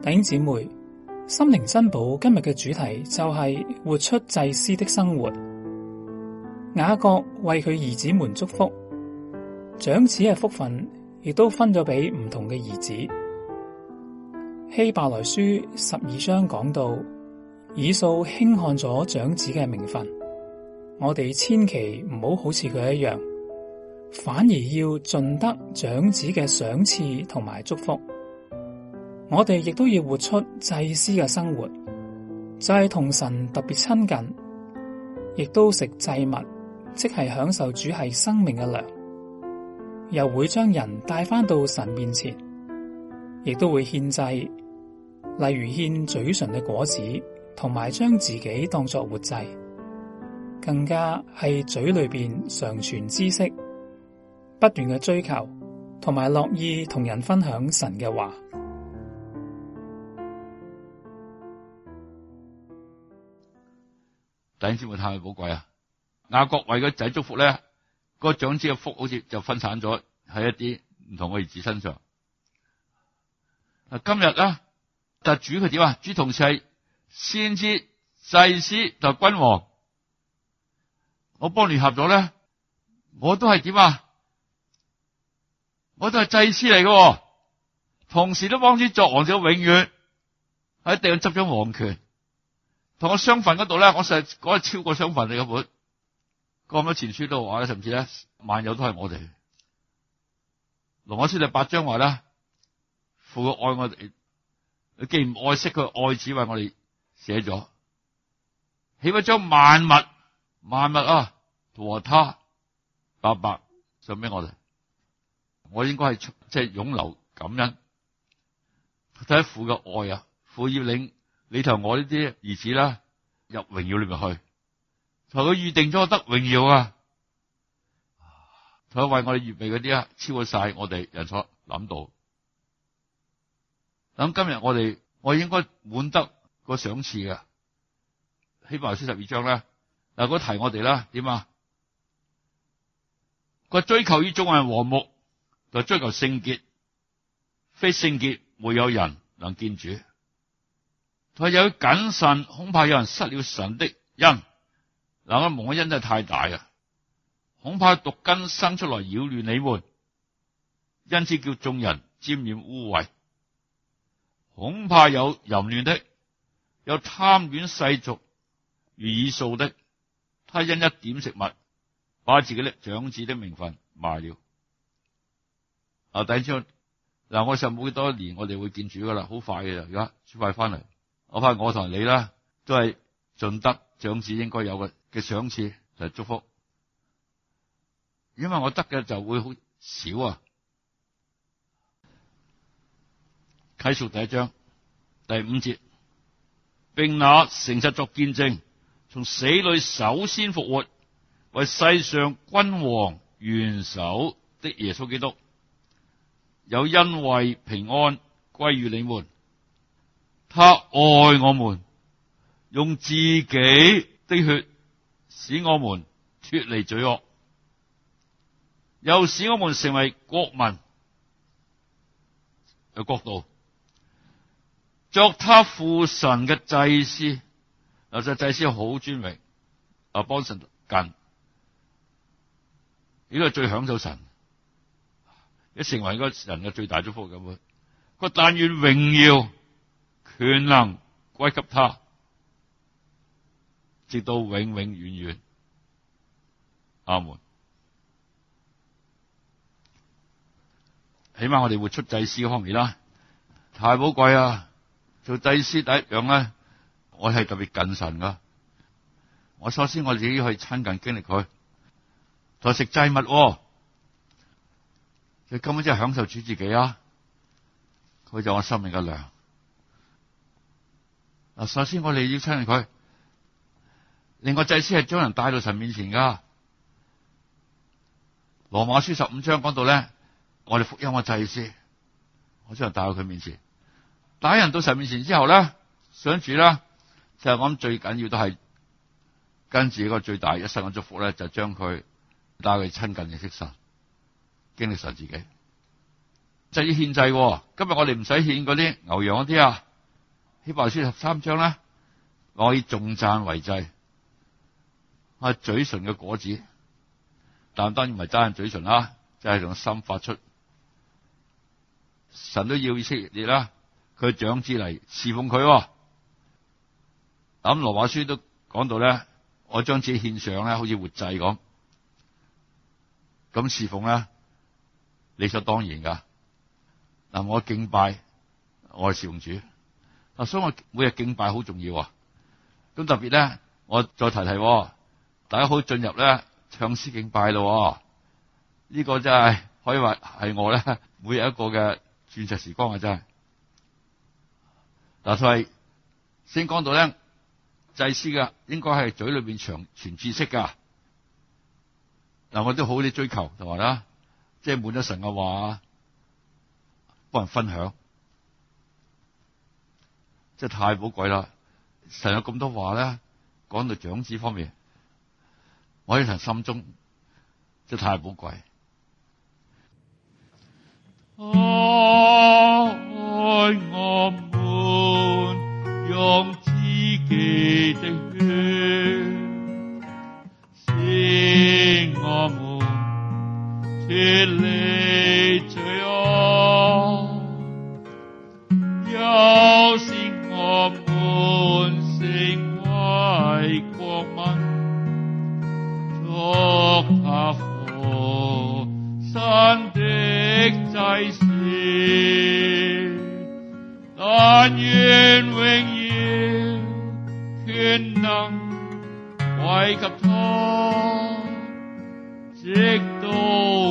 弟兄姊妹，心靈珍寶今日嘅主題就係活出祭司的生活。雅各為佢兒子們祝福，長子嘅福分亦都分咗俾唔同嘅兒子。希伯來書12章講到，以掃輕看咗長子嘅名分，我哋千祈唔好好似佢一樣，反而要盡得長子嘅賞賜同埋祝福。我哋亦都要活出祭司嘅生活，就係同神特別親近，亦都食祭物，即係享受主係生命嘅糧，又會將人帶返到神面前，亦都會獻祭，例如獻嘴唇嘅果子，同埋將自己當作活祭，更加係嘴裏邊常存知識，不斷嘅追求，同埋樂意同人分享神嘅話。 弟兄姊妹太寶貴啊！雅各為個仔祝福咧，個長子嘅福好似就分散咗喺一啲唔同嘅兒子身上。今日咧，但主佢點啊？主同時係先知、祭司同君王，我幫聯合咗咧，我都係點啊？我都係祭司嚟嘅，同時都幫主作王者，永遠喺地上執咗王權。同我相份嗰度咧，我實嗰係超過相份嚟嘅本。咁多前書都話咧，甚至咧萬有都係我哋。羅馬書第8章話咧，父愛我哋，既唔愛惜佢愛子為我哋寫咗，豈不將萬物啊和他白白送俾我哋？我應該係即係湧流感恩，睇下父嘅愛啊！父要領你同我呢啲兒子啦入榮耀裏面去，同佢預定咗得榮耀啊！同佢為我哋預備嗰啲啊，超過晒我哋人所諗到。咁今日我應該滿得個賞賜嘅。希伯來書12章咧，嗱嗰提我哋啦，點啊？個追求於眾人和睦，就追求聖潔，非聖潔沒有人能見主。佢有謹慎，恐怕有人失了神的恩。嗱，我蒙嘅恩真係太大啊！恐怕毒根生出來擾亂你們，因此叫眾人沾染污穢。恐怕有淫亂的，有貪戀世俗如以掃的，他因一點食物，把自己的長子的名分賣了。第一章嗱，我實冇幾多年，我哋會見主噶啦，好快嘅，而家主快翻嚟。我怕我同你啦，都係盡得長子應該有嘅賞賜就係祝福，因為我得嘅就會好少啊。啟示第1章第5節，並那誠實作見證，從死裏首先復活，為世上君王元首的耶穌基督，有恩惠平安歸於你們。他愛我們，用自己的血使我們脫離罪惡，又使我們成為國民嘅國度，作他父神嘅祭司。嗱，就祭司好尊榮，幫神近，呢個係最享受神，一成為一個人嘅最大祝福咁。佢但願榮耀權能歸給他，直到永永遠遠。阿門。起碼我哋活出祭司嘅方面啦，太寶貴啊！做祭司第一樣咧，我係特別近神噶。我首先我自己要去親近經歷佢，就食祭物，佢根本真係享受主自己啊！佢就我生命嘅糧。嗱，首先我哋要親近佢。另外，祭司係將人帶到神面前噶。羅馬書15章講到咧，我哋福音嘅祭司，我將人帶到佢面前，帶人到神面前之後咧，想住啦，就係我諗最緊要都係跟住一個最大一生嘅祝福咧，就將佢帶佢親近認識神，經歷神自己。就要獻祭，今日我哋唔使獻嗰啲牛羊嗰啲啊。 希伯來書13章咧，我以頌讚為祭，係嘴唇嘅果子，但當然唔係齋係嘴唇啦，就係從心發出。神都要以色列啦，佢長子嚟侍奉佢。咁羅馬書都講到咧，我將自己獻上咧，好似活祭咁，咁侍奉咧理所當然噶。嗱，我敬拜，我係侍奉主。所以我每日敬拜好重要。咁特別咧，我再提提，大家好進入咧唱詩敬拜咯。呢個真係可以話係我咧每日一個嘅鑽石時光啊！真係嗱，佢係先講到咧，祭司嘅應該係嘴裏邊傳知識噶。嗱，我都好啲追求同埋啦，即係滿咗神嘅話，幫人分享，真係太寶貴啦！神有咁多話咧，講到長子方面，我喺神心中真係太寶貴。愛我們用自己的血，使我們脫離罪惡，又使我們成為國民，作他父神的祭司。但願榮耀權能歸給他，直到